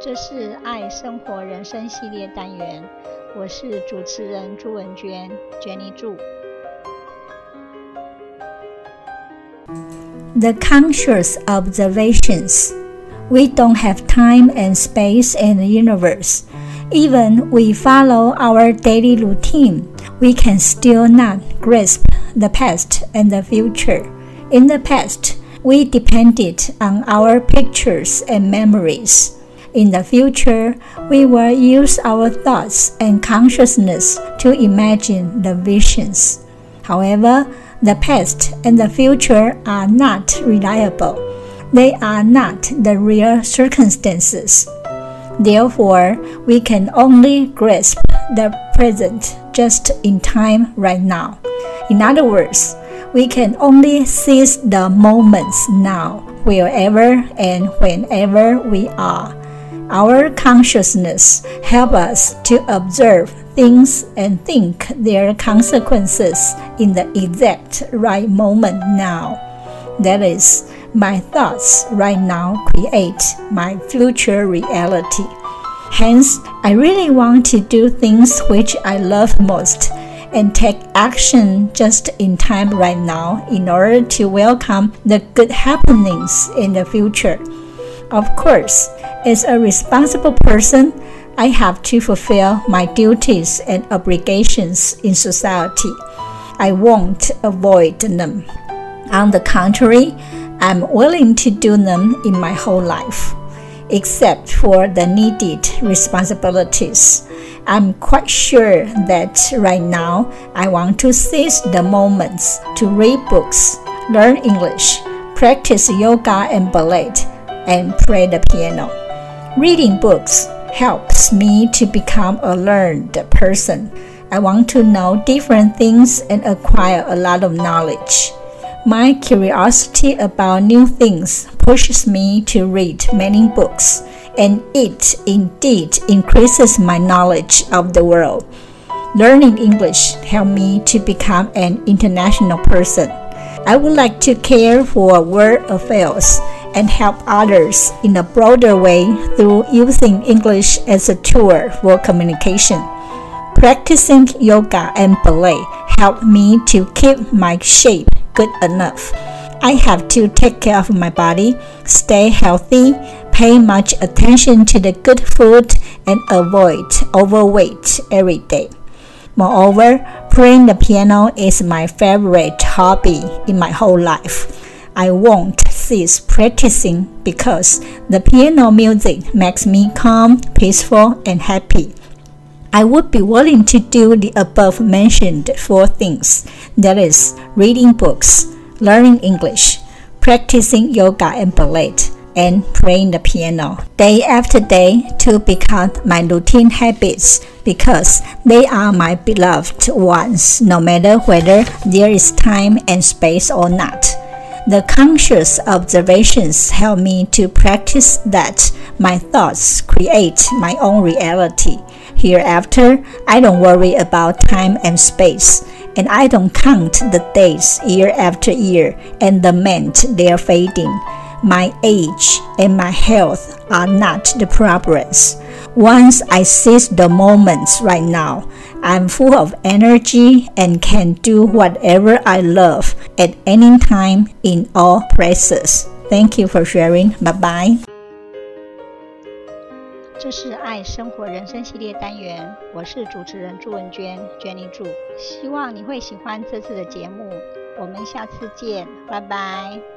這是愛生活人生系列單元，我是主持人朱文娟 Jenny 朱。 The conscious observations. We don't have time and space in the universe. Even we follow our daily routine, we can still not grasp the past and the future. In the past, we depended on our pictures and memories. In the future, we will use our thoughts and consciousness to imagine the visions. However, the past and the future are not reliable. They are not the real circumstances. Therefore, we can only grasp the present just in time right now. In other words, we can only seize the moments now, wherever and whenever we are. Our consciousness helps us to observe things and think their consequences in the exact right moment now. That is, my thoughts right now create my future reality. Hence, I really want to do things which I love most and take action just in time right now in order to welcome the good happenings in the future. Of course, as a responsible person, I have to fulfill my duties and obligations in society. I won't avoid them. On the contrary, I'm willing to do them in my whole life. Except for the needed responsibilities, I'm quite sure that right now I want to seize the moments to read books, learn English, practice yoga and ballet, and play the piano. Reading books helps me to become a learned person. I want to know different things and acquire a lot of knowledge. My curiosity about new things pushes me to read many books, and it indeed increases my knowledge of the world. Learning English helps me to become an international person. I would like to care for world affairs and help others in a broader way through using English as a tool for communication. Practicing yoga and ballet help me to keep my shape good enough. I have to take care of my body, stay healthy, pay much attention to the good food, and avoid overweight every day. Moreover, playing the piano is my favorite hobby in my whole life. I won't cease practicing because the piano music makes me calm, peaceful, and happy. I would be willing to do the above mentioned 4 things, that is, reading books, learning English, practicing yoga and ballet, and playing the piano day after day to become my routine habits because they are my beloved ones no matter whether there is time and space or not. The conscious observations help me to practice that my thoughts create my own reality. Hereafter, I don't worry about time and space, and I don't count the days year after year and lament their fading. My age and my health are not the problems. Once I seize the moments right now, I'm full of energy and can do whatever I love at any time in all places. Thank you for sharing. Bye-bye. 這是愛生活人生系列單元，我是主持人朱文娟 Jenny 朱，希望你會喜歡這次的節目，我們下次見，拜拜。